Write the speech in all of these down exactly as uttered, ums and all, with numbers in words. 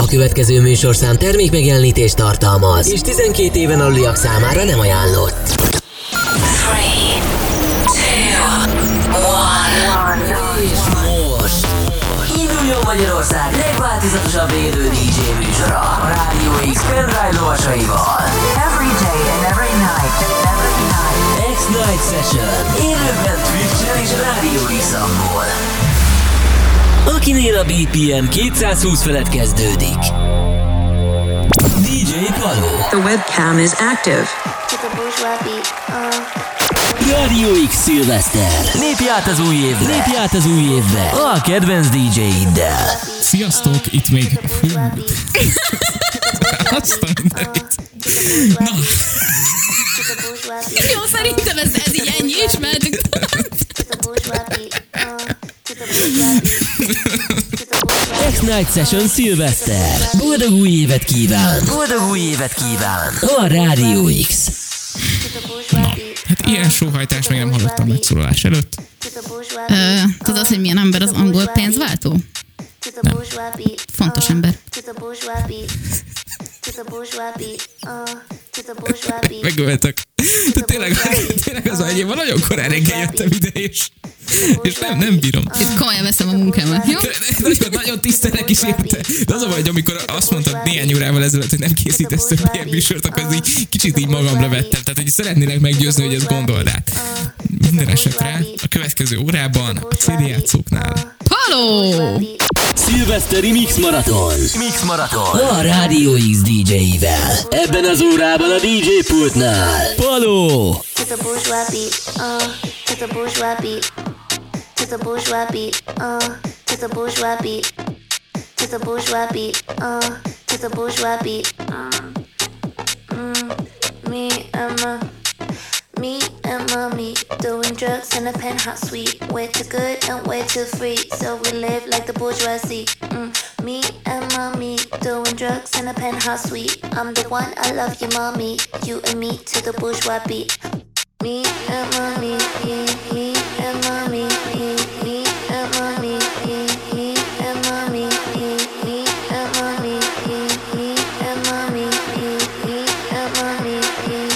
A következő műsorszám termékmegjelenítést tartalmaz, és tizenkét éven aluliak számára nem ajánlott. three, two, one. És most induljon Magyarország legváltozatosabb élő dé dzsé műsora a Rádió X pendrive lovasaival. Every day and every night, every night. X-Night Session élőben Twitch-en és Rádió X-amból. Akinél a bé pé em kétszázhúsz felett kezdődik. dé dzsé Paló. The webcam is active. Rádió X Szilveszter. Lépj át az új évbe. Lépj át az új évbe. A kedvenc dé dzsé-iddel. Sziasztok, itt még... Fú. Azt a mindenit. Na. Jó, szerintem ez, ez így ennyi is, mehetünk. X-Night Session Szilveszter. Boldog új évet kíván. Boldog új évet kíván. A Rádió X. Na, hát ilyen sóhajtás még nem hallottam megszólalás előtt. Ö, tudod, hogy milyen ember az angol pénzváltó? Nem. Fontos ember. Megöltök. De tényleg, tényleg az agyéban nagyon korán reggel jöttem ide, és, és nem, nem bírom. Itt komolyan veszem a munkámat, jó? De, de, nagyon, nagyon tisztelek is érte. De az a baj, hogy amikor azt mondtad néhány órával ezelőtt, hogy nem készítesz több ilyen műsort, akkor ez így kicsit így magamra vettem. Tehát, hogy szeretnélek meggyőzni, hogy ezt gondold át. Minden esetre a következő órában a cé dé játszóknál. Halló! Szilveszteri Mix Marathon. Mix Marathon. A Rádió X dé dzsé-ivel. Ebben az órában a dé dzsé pultnál. Paló. To the bourgeois beat, uh, to the bourgeois beat, to the bourgeois beat, uh, to the bourgeois beat, to the bourgeois beat, uh, to the bourgeois beat, uh, mm, me and my, me and mommy doing drugs in a penthouse suite. Way too good and way too free, so we live like the bourgeoisie. Mm, me and mommy doing drugs in a penthouse suite. I'm the one, I love you, mommy. You and me to the bourgeois beat. Me and mommy, me, me and mommy, me, me and mommy, me, me and mommy, me, me and mommy, me, me and mommy, me, me and mommy, me.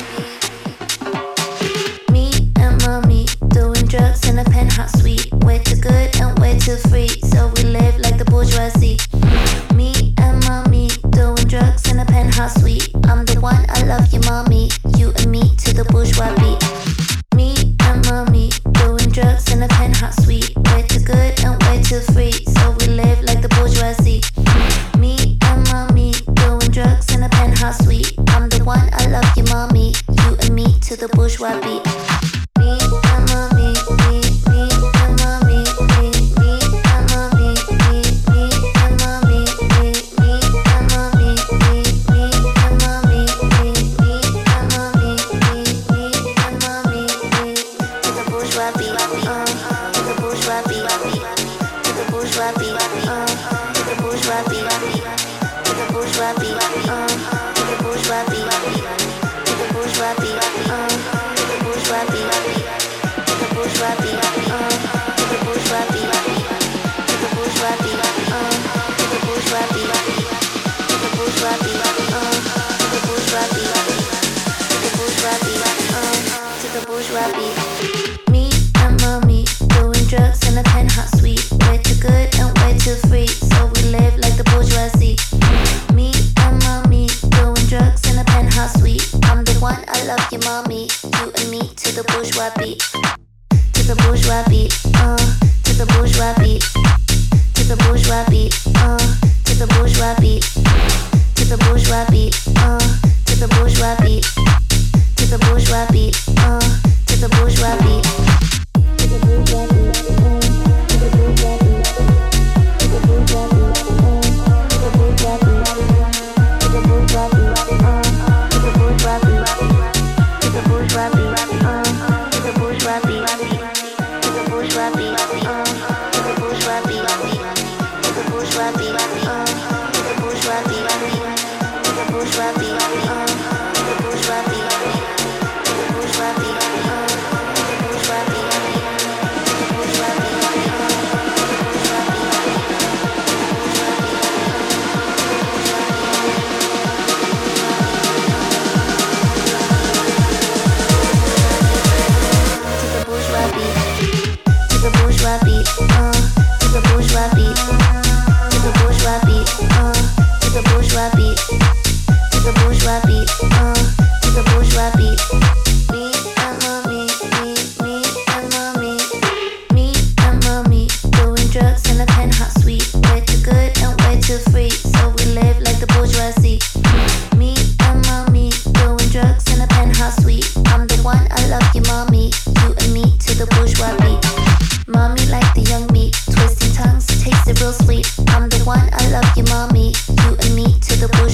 Me and mommy doing drugs in a penthouse suite. Way too good and way too free, so we live like the bourgeoisie. Me and mommy doing drugs in a penthouse suite. I'm the one, I love you, mommy. You and me to the bourgeois beat. Me and mommy doing drugs in a penthouse suite. Way too good and way too free, so we live like the bourgeoisie. Me and mommy doing drugs in a penthouse suite. I'm the one, I love you, mommy. You and me to the bourgeois beat. Me and mommy, me, me and mommy, me, me and mommy, me, me and mommy, me, me and mommy, me, me and mommy, me, me and mommy, me, me and mommy, me. To the bourgeois beat, uh, to the bourgeois beat, to the bourgeois beat, uh, to the bourgeois beat, to the bourgeois beat, uh, to the bourgeois beat, to the bourgeois beat, uh, to the bourgeois beat, to the bourgeois beat, uh, to the bourgeois beat, to the bourgeois beat, uh, to the bourgeois beat, to the bourgeois beat, uh, to the bourgeois beat, to the bourgeois beat, uh, to the bourgeois beat. Me and mommy doing drugs in a penthouse suite. Way too good and way too free, so we live like the bourgeoisie. Me and mommy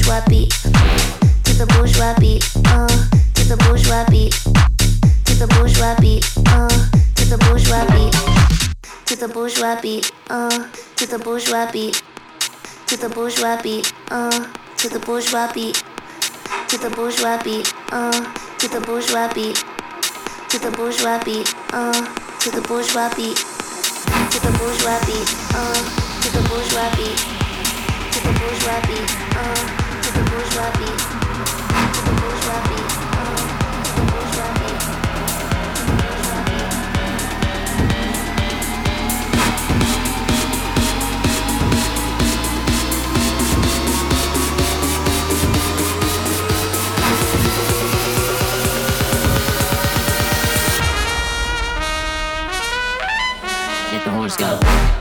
bourgeois beat, to the bourgeois beat, uh, to the bourgeois beat, to the bourgeois beat, uh, to the bourgeois beat, to the bourgeois beat, uh, to the bourgeois beat, to the bourgeois beat, uh, to the bourgeois beat, to the bourgeois beat, uh, to the bourgeois beat, to the bourgeois beat, uh, to the bourgeois beat, to the bourgeois beat, uh, to the bourgeois beat, to the bourgeois beat, uh, to the bourgeois beat, to the bourgeois beat, uh, to the bourgeois beat, to the bourgeois beat. Let the horse go.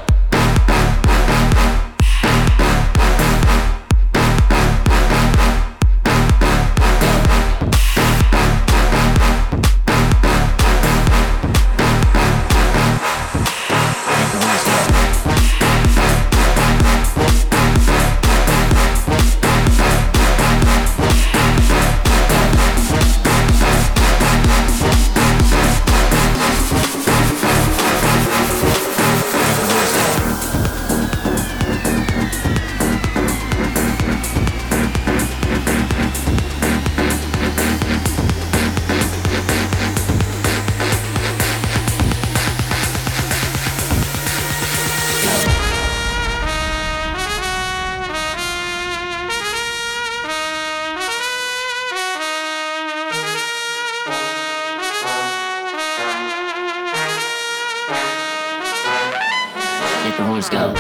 Let the horse go.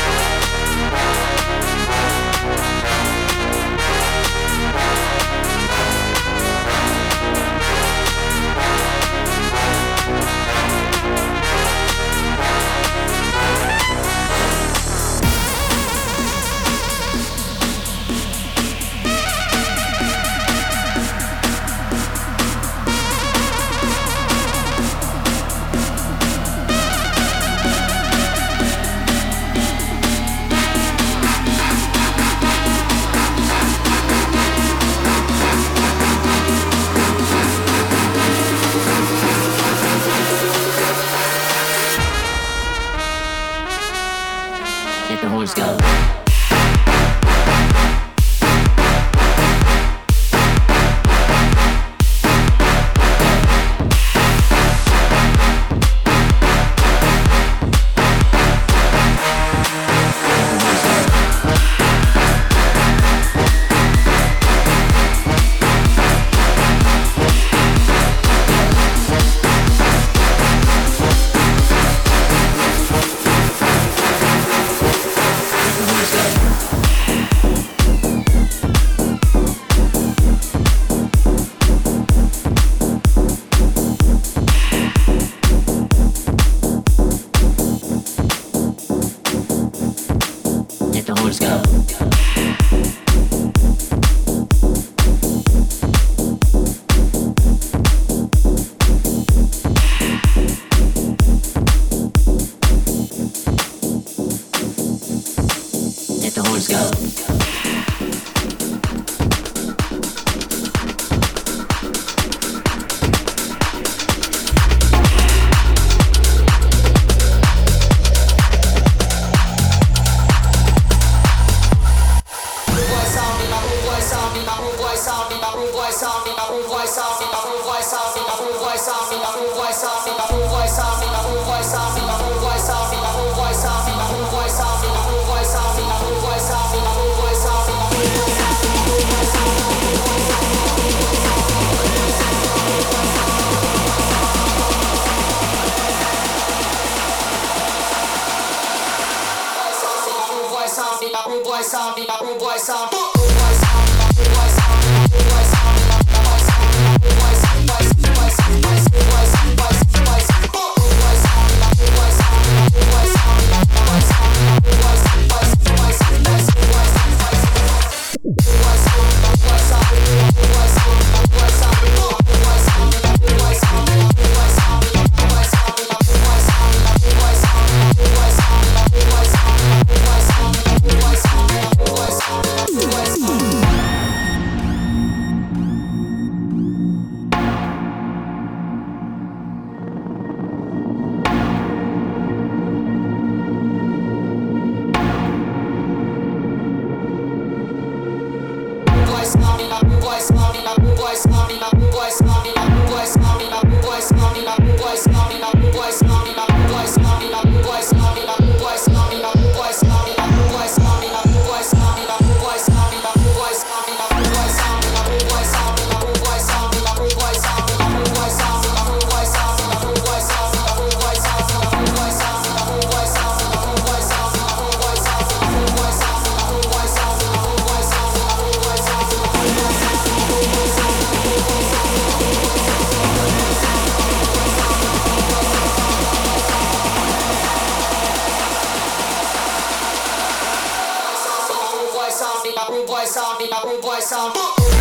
Let the horse go. Let the horse go. Let the horse go. Boys, rude boy sound, me a rude boy sound.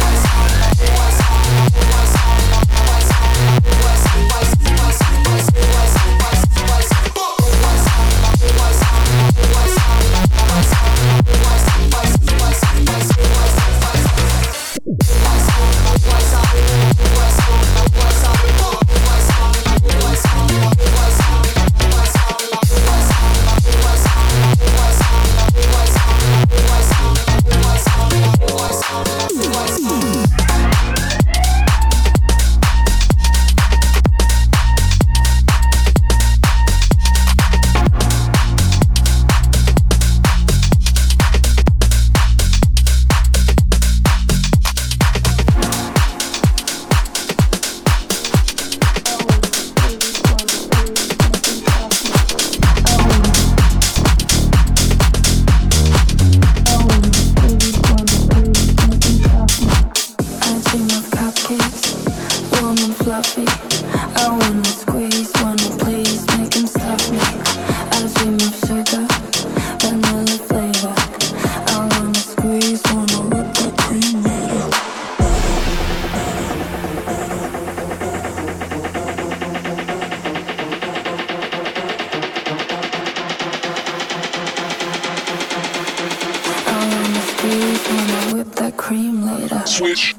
Switch.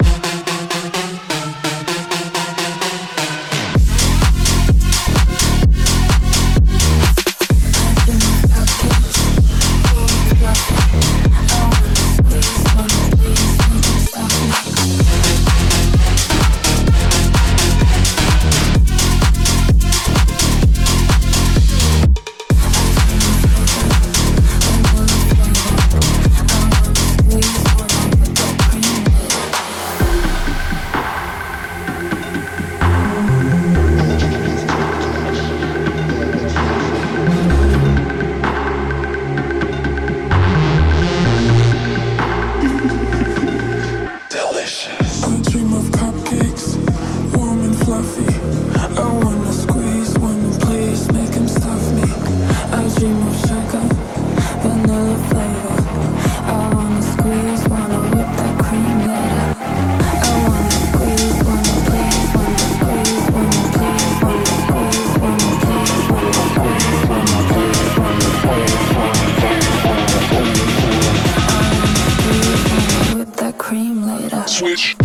Switch.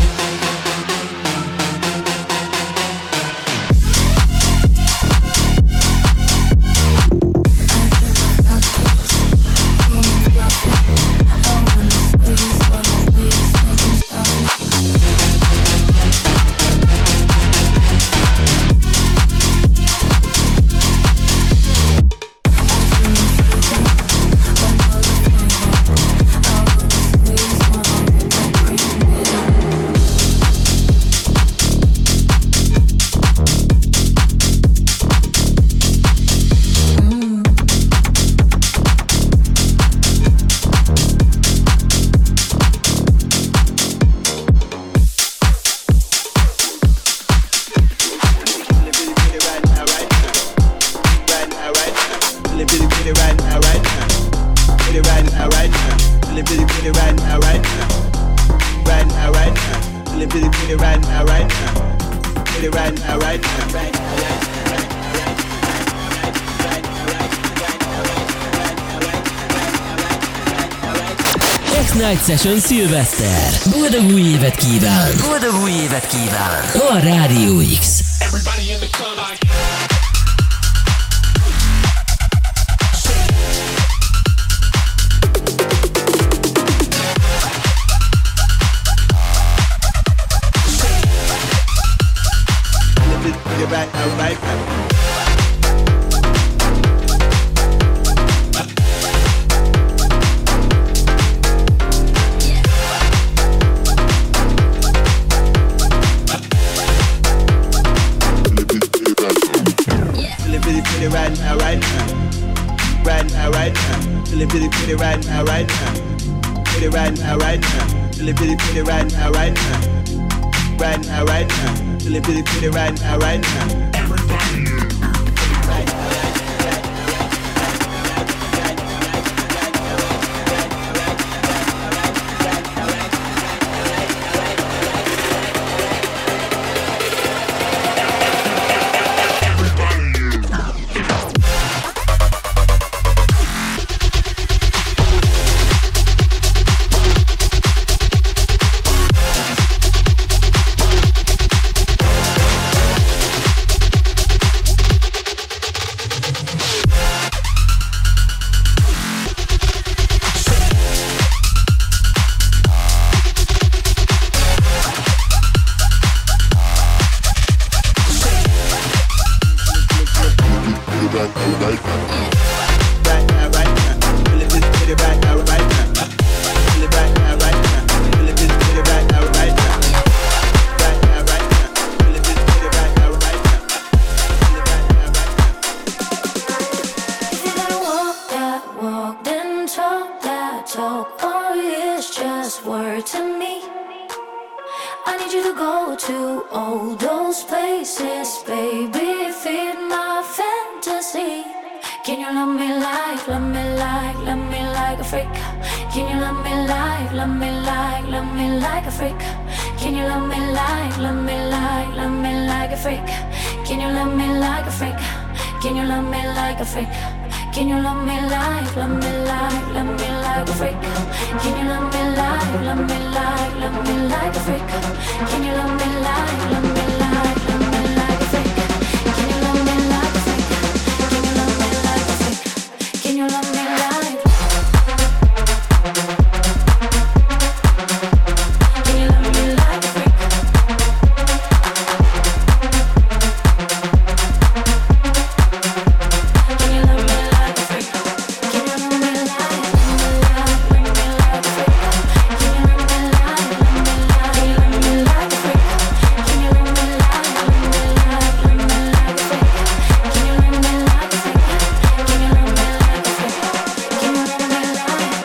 X-Night Session Szilveszter. Boldog új évet kíván! Boldog új évet kíván! A Rádió X. Everybody in the club like... Right, right, right. Right now, right now, right now, right now, feeling really pretty right now, right now, pretty right now, right now, feeling really pretty right now, right now, right now, right now, feeling really pretty right now, right now. word to me. I need you to go to all those places, baby, feed my fantasy. Can you love me like, love me like, love me like a freak? Can you love me like, love me like, love me like a freak? Can you love me like, love me like, love me like a freak? Can you love me like a freak? Can you love me like a freak? Can you love me like, love me like, love me like a freak? Can you love me like, love me like, love me like a freak? Can you love me like, love me like, love me like a freak? Can you love me like a freak? Can you love me like a freak? Can you love me like? Can you love me like a freak? Can you love me like a freak? Can you love me like, love me like, love me like a freak? Can you love me like, love me like, love me like a freak? Can you love me like, love me like, love me like a freak? Can you love me like a freak? Can you love me like a freak? Can you love me like?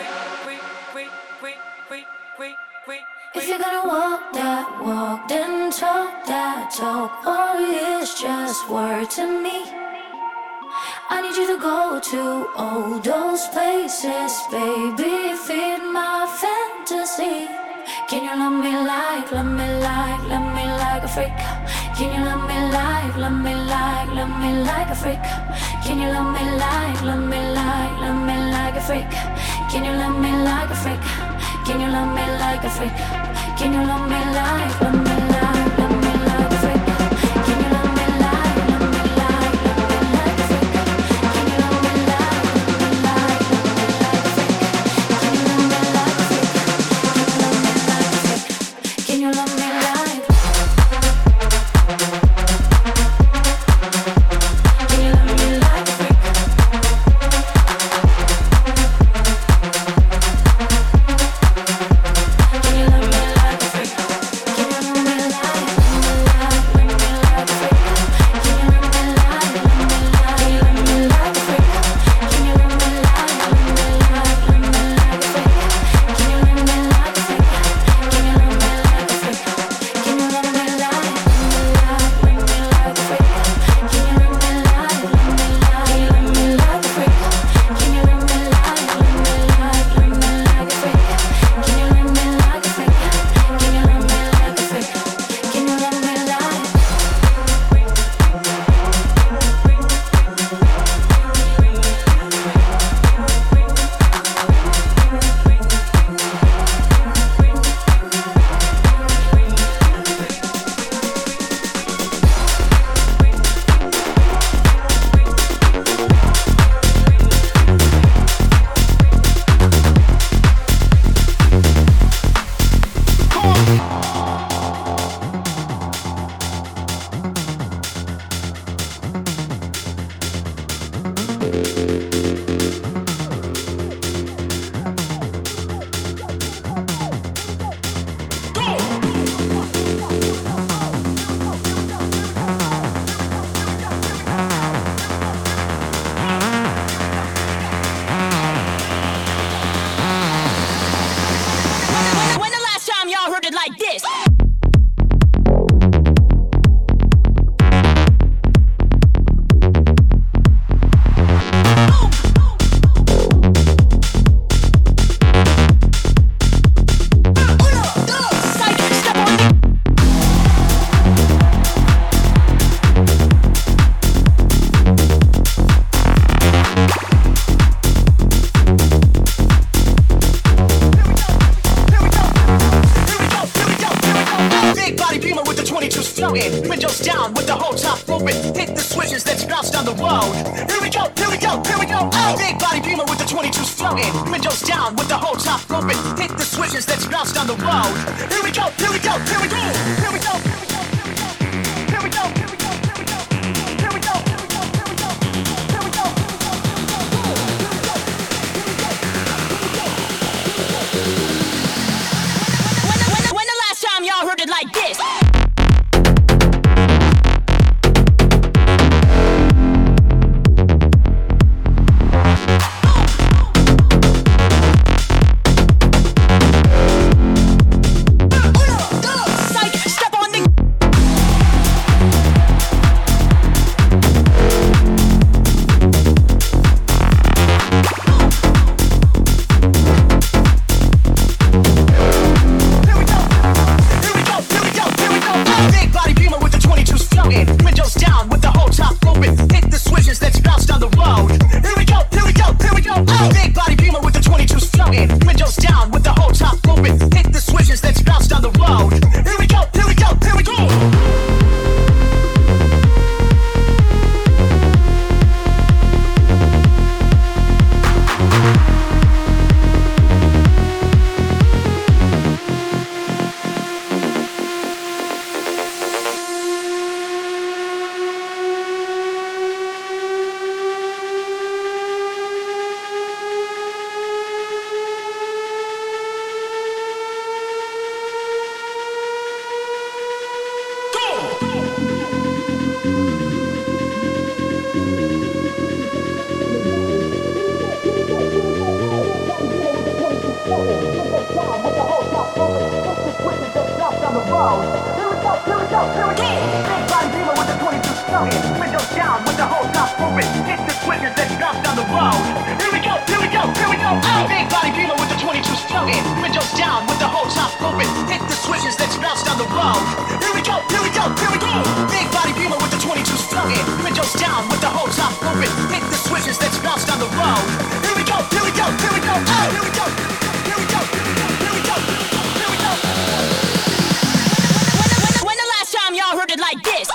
If you're gonna walk that walk, then talk that talk, or it's just word to me. I need you to go to all those places, baby, feed my fantasy. Can you love me like, love me like, love me like a freak? Can you love me like, love me like, love me like a freak? Can you love me like, love me like, love me like a freak? Can you love me like a freak? Can you love me like a freak? Can you love me like, love me like, love me like a freak? Can you love me like, love me like, love me like a freak? Can you love me like, love me like, love me like a freak? Can you love me like a freak? Can you love me like? Can you love me like a freak? Can you love me like a freak? Can you love me like, love me like, love me like a freak? Can you love me like, love me like, love me like a freak? Can you love me like, love me like, love me like a freak? Can you love me like a freak? Can you love me like a freak? Can you love me like, love me like, love me like a freak? Can you love me like, love me like, love me like a freak? Can you love me like, love me like, love me like a freak? Can you love me like a freak? Can you love me like a freak? Can you love me like? When the last time y'all heard it like this? Big body beamer with the twenty-twos floating, windows down with the whole top open. Hit the switches, let's bounce down the road. Here we go, here we go, here we go. Oh, big body beamer with the twenty-twos floating, windows down with the whole top open. Hit the switches, let's bounce down the road. Here we go, here we go, here we go, here we go, here we go, here we go, here we go, here we go, here we go, here we go, here we go, here we go, When the, when the, when the last time y'all heard it like this? world. Here we go, here we go, here we go. Big body beamer with the twenty-two floating. Windows down with the whole top open. Hit the switches, let's bounce down the road. Here we go, here we go, here we go. Oh, big body beamer with the twenty-two floating. Windows down with the whole top open. Hit the switches, let's bounce down the road. Here we go, here we go, here we go. Big body beamer with the twenty-two floating. Windows down with the whole top open. Hit the switches, let's bounce down the road. Here we go, here we go, here we go. Oh, here we go, here we go, here we go, here we go. When, when the last time y'all heard it like this?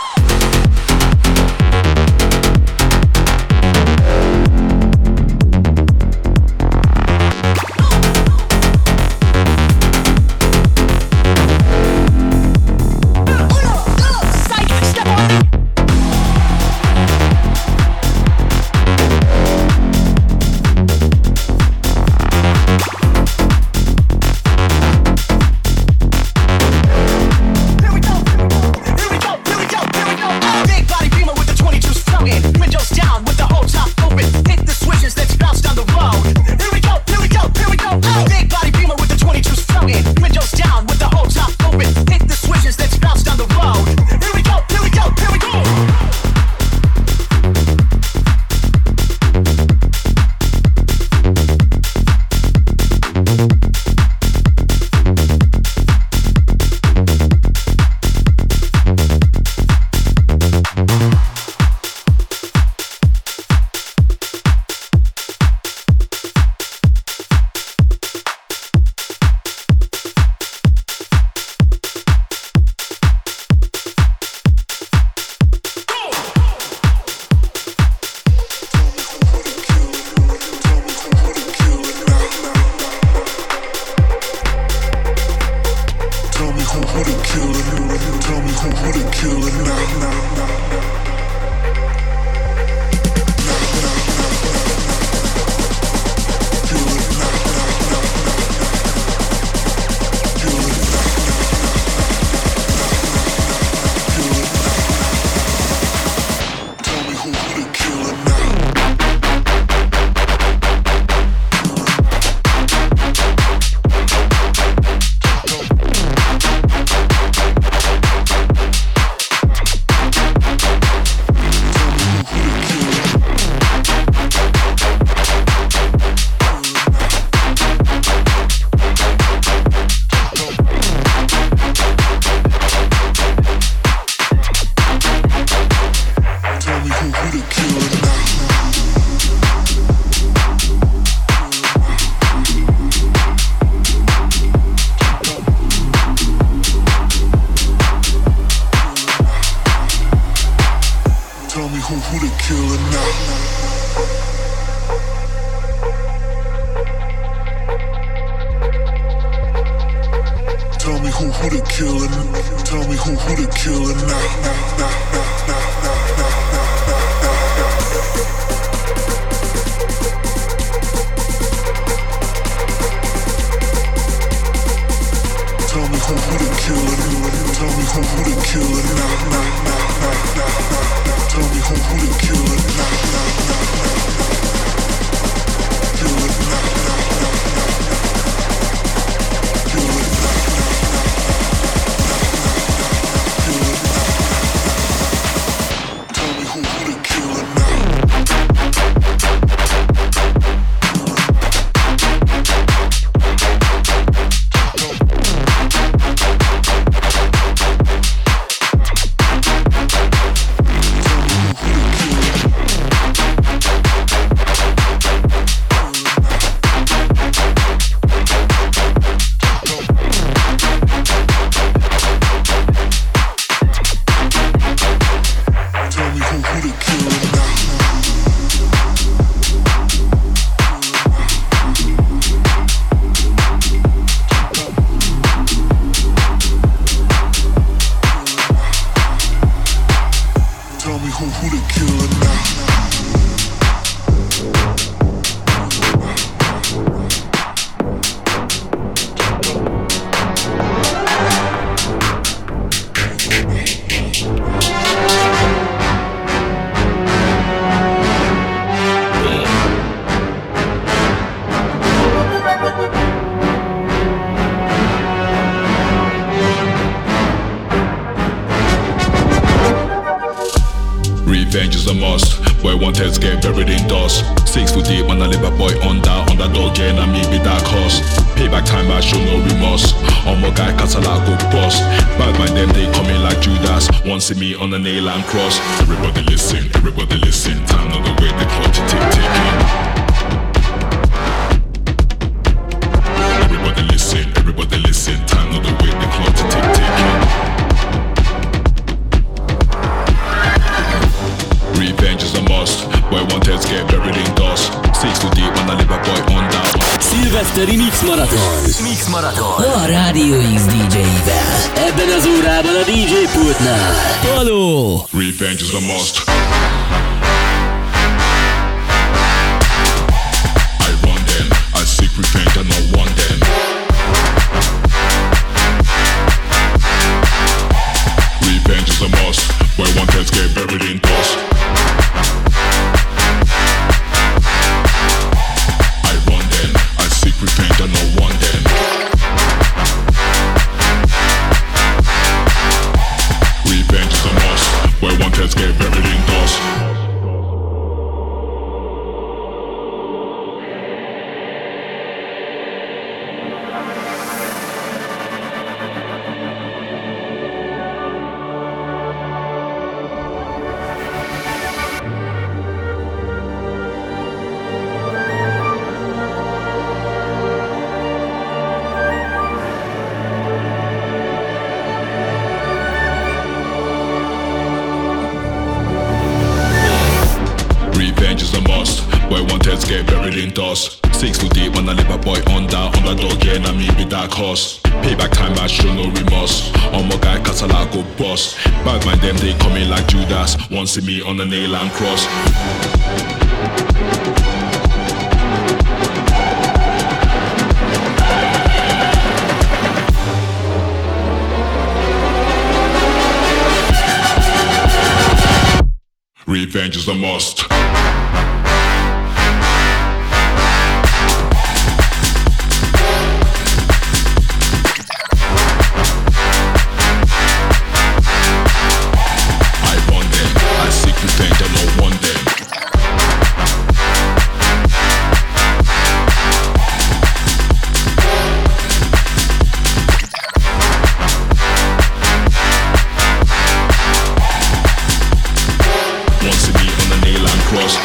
a must. Boy want heads get buried in dust. Six foot deep when I live a boy under. Underdog yeah, and me be dark horse. Payback time I show no remorse. On my guy Catala go bust. Bad mind them they coming like Judas. Want see me on the nail and cross. Everybody listen, everybody listen. Time on the way the clock to tick ticking. Everybody listen, everybody listen. Time on the way the clock to tick ticking. Revenge is a must. Boy want heads get buried in dust. Six too deep when I live a boy under. Szilveszteri Mix Marathon. Mix Marathon. A Rádió X dé dzseivel. Ebben az órában a dé dzsé pultnál Paló. Revenge is a must. I run them. I seek revenge and I want them. Revenge is a must. Boy want heads get buried in dust. Repent and no one then. Revenge is a must. Where one heads get buried in dust. Get buried in dust. Six foot deep when I live a boy under. Underdog yeah, and me be dark horse. Payback time I show no remorse. On my guy Catala go bust. Bad mind them they coming like Judas. Want see me on the nail and cross. Revenge is a must. Cross.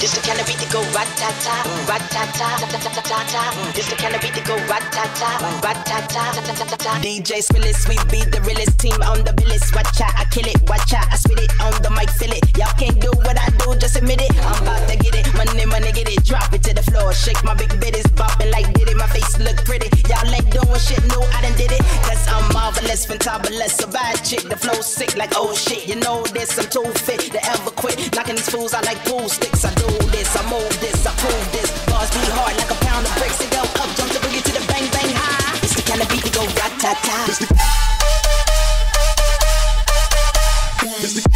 It's the kind of beat that go rat-ta-ta, rat-ta-ta, ta-ta-ta-ta-ta. It's the kind of beat that go rat-ta-ta, rat-ta-ta, ta-ta-ta-ta. D J Spillis, we be the realest team on the billis. Watch out, I kill it, watch out, I spit it on the mic, feel it. Y'all can't do what I do, just admit it. I'm about to get it, money, money, get it. Drop it to the floor, shake my big bitties, bopping like did it. My face look pretty, y'all like doing shit, no, I done did it. Cause I'm marvelous, fantabulous, a bad chick. The flow sick like oh shit, you know this, I'm too fit to ever quit. Knocking these fools out like pool sticks. I do this, I move this, I prove this. Bars be hard like a pound of bricks. It go up, jump to bring it to the bang bang high. It's the kind of beat that go rat-ta-ta. It's the It's the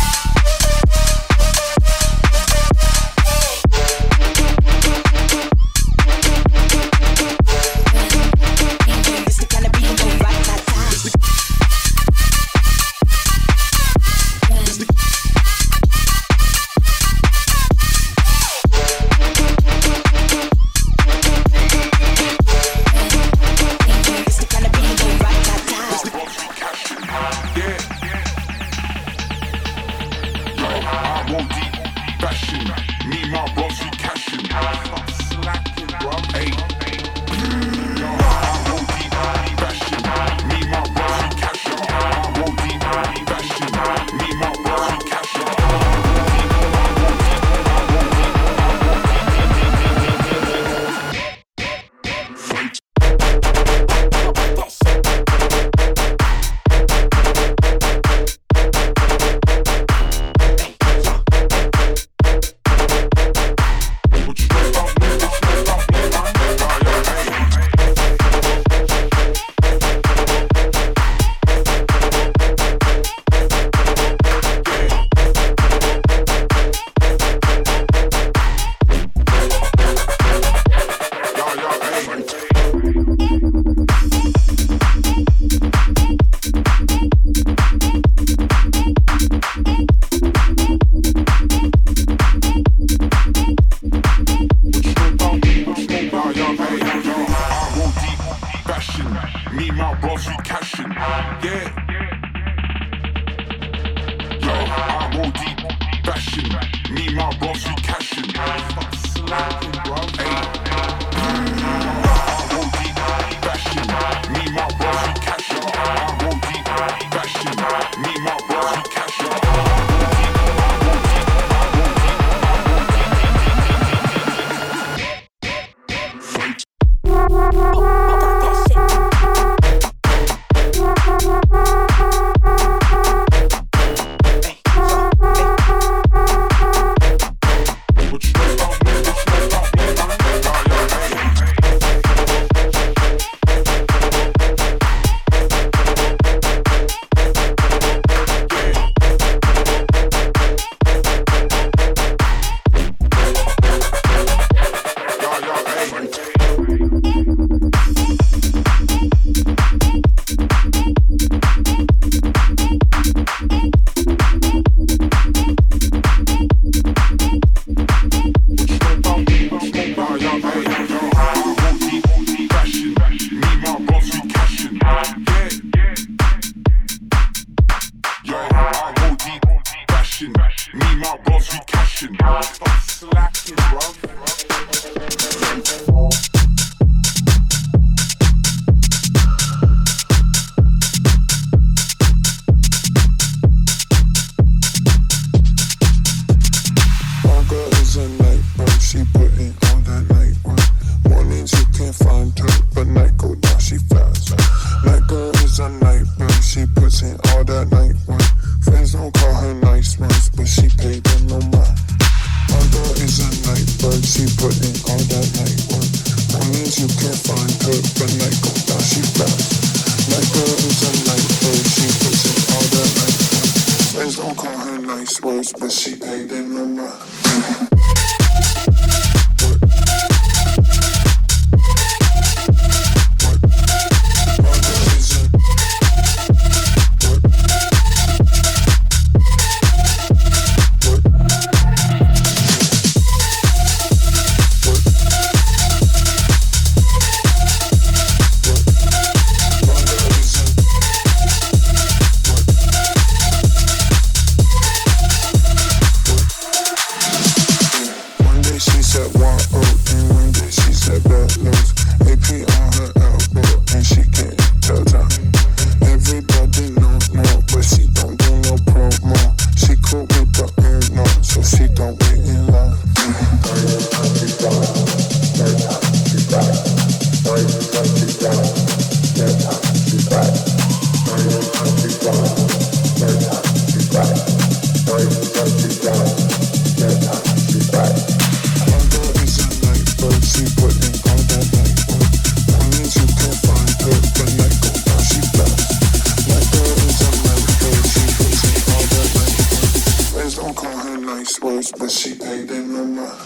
Friends don't call her nice words, but she paid them no mind.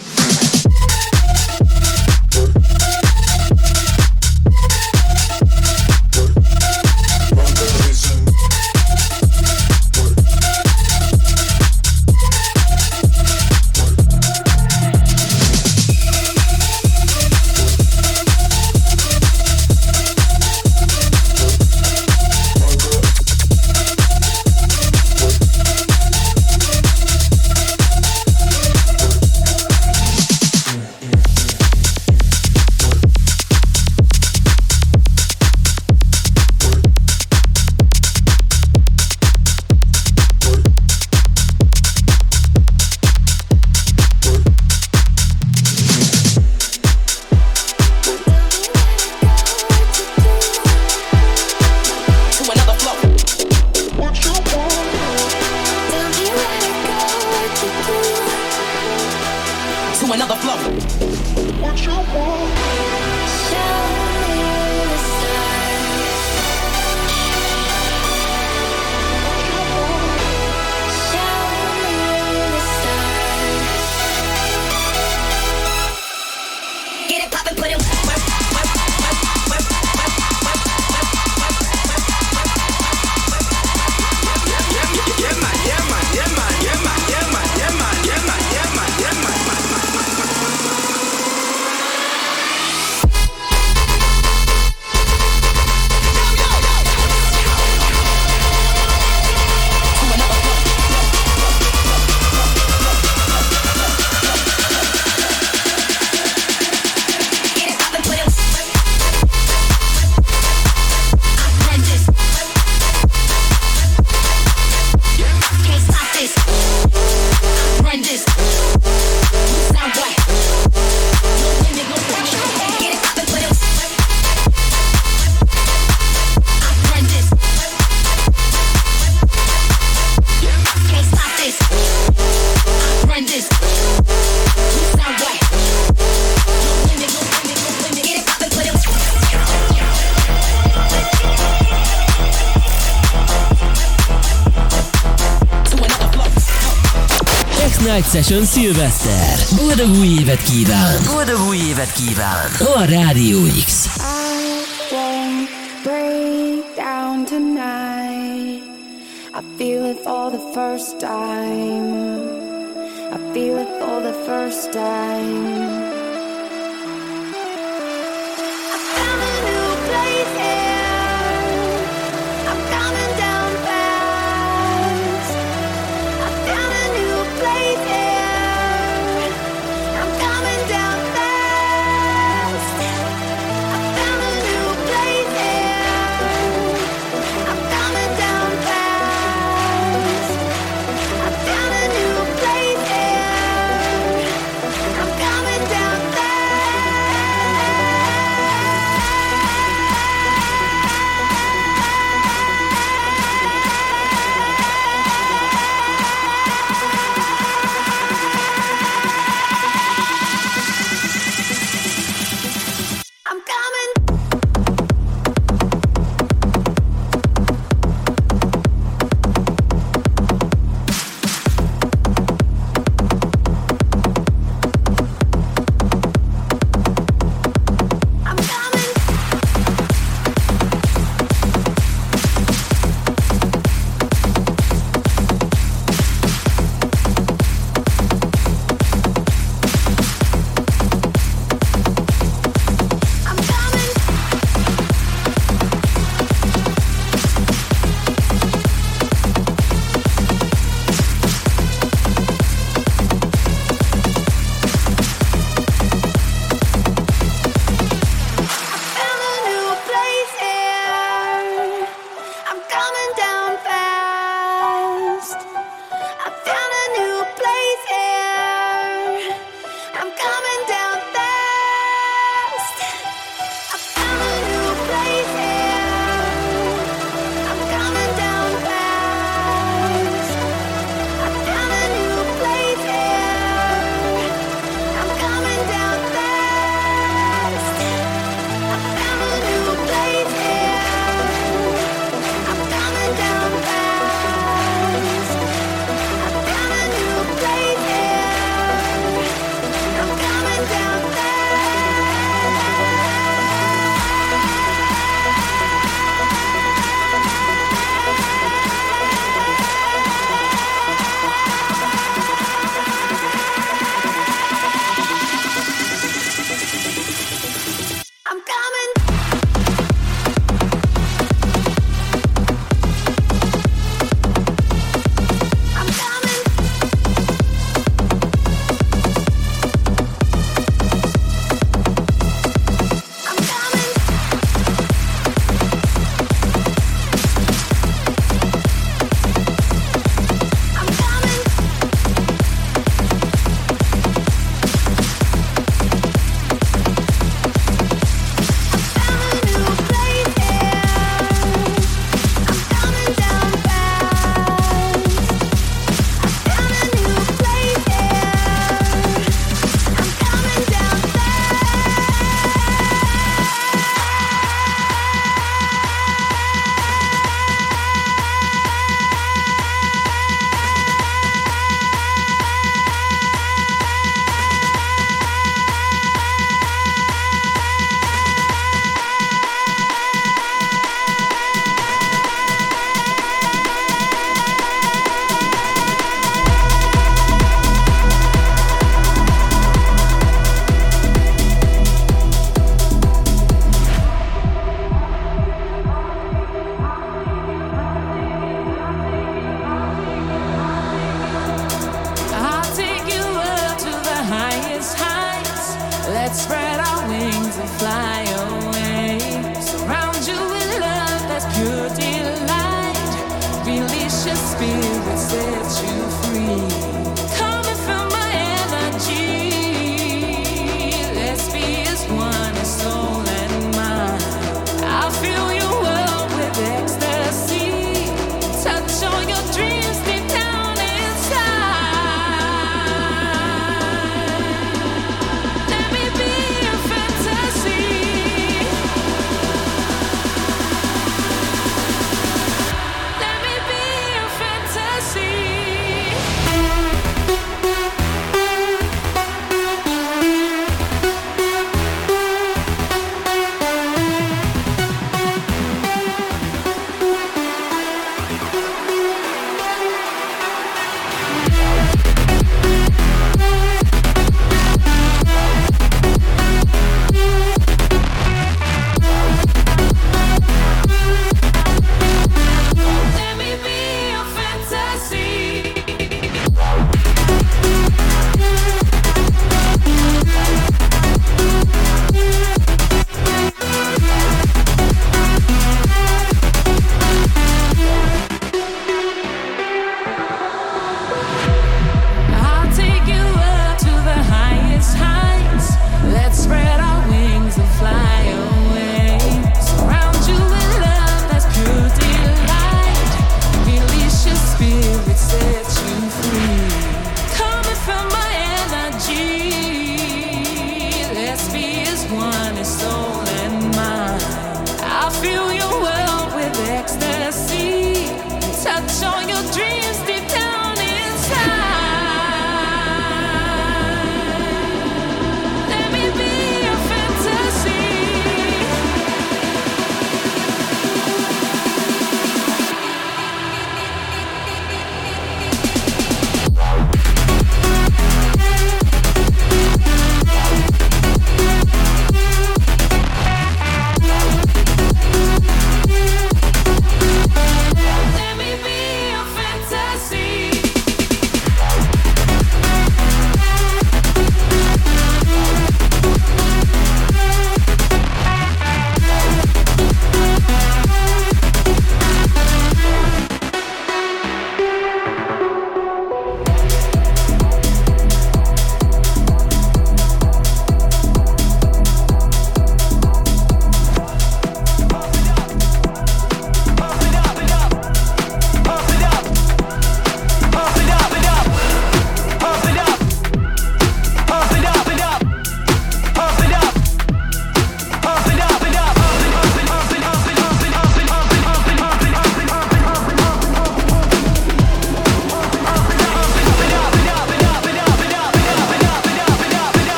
Night Session Szilveszter. Boldog új évet kíván! Boldog új évet kíván! A Rádió X. I won't break down tonight. I feel it for the first time. I feel it for the first time. I found a new place here. I'm coming down fast. I found a new place here. I'm coming down fast. I found a new place here. I'm coming down fast. I found a new place here. I'm coming down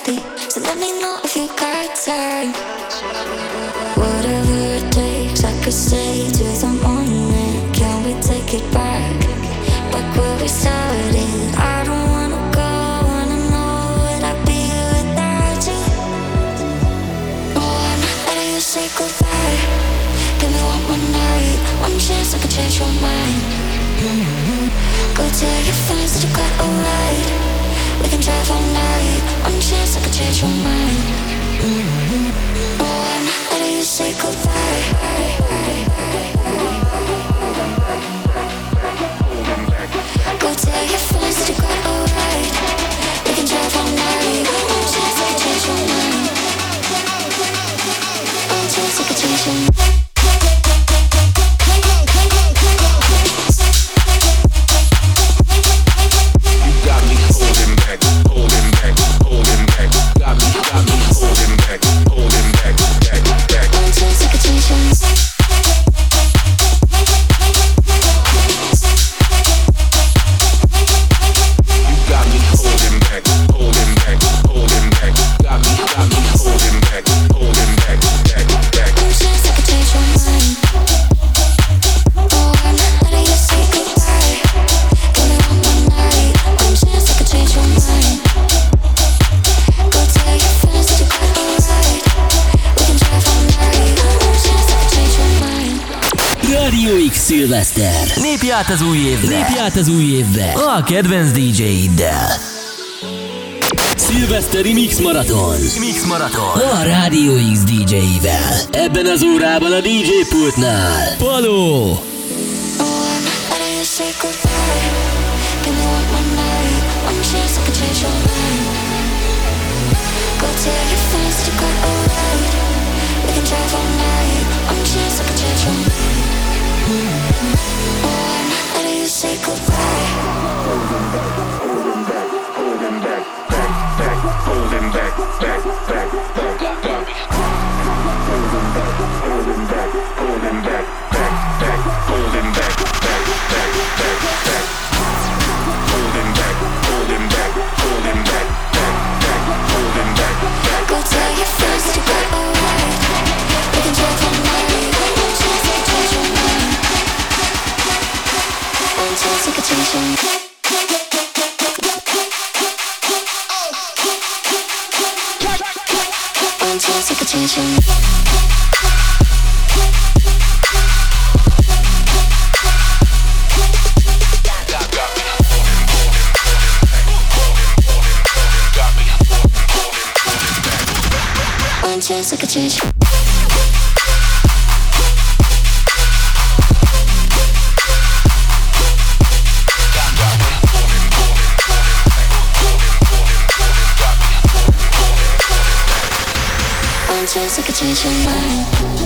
thirsty, so let me know if you got time. Whatever it takes, I could stay till the morning. Can we take it back, back where we started? I don't wanna go, wanna know would I be without you? Oh, I'm not letting you say goodbye. Give me one more night, one chance I could change your mind. Mm-hmm. Go tell your friends that you got alright. We can drive all night, one chance I could change your mind. Mm-hmm. Oh, I'm not letting you say goodbye. Go tell your friends that you got alright. We can drive all night, one chance I could change your mind. One chance I could change your mind. Szilveszter. Lépj át az új évbe. Lépj át az új évbe a kedvenc dé dzsé-iddel. Szilveszteri Mix Marathon. Mix Marathon. A Rádió X dé dzsé-ivel. Ebben az órában a dé dzsé pultnál Paló. Say goodbye. Holding back, holding back, back, back, holding back, back, back, back, got me. Holding back, holding back, holding back, back, back, holding back, back, back, back, back. Holding back, holding back, holding back, back, back, holding back, back. Go tell your friends to go alright. We can drive all night. One chance to change your mind. One chance to change your mind. One chance to change your mind. One chance I could change. One chance I could change your mind.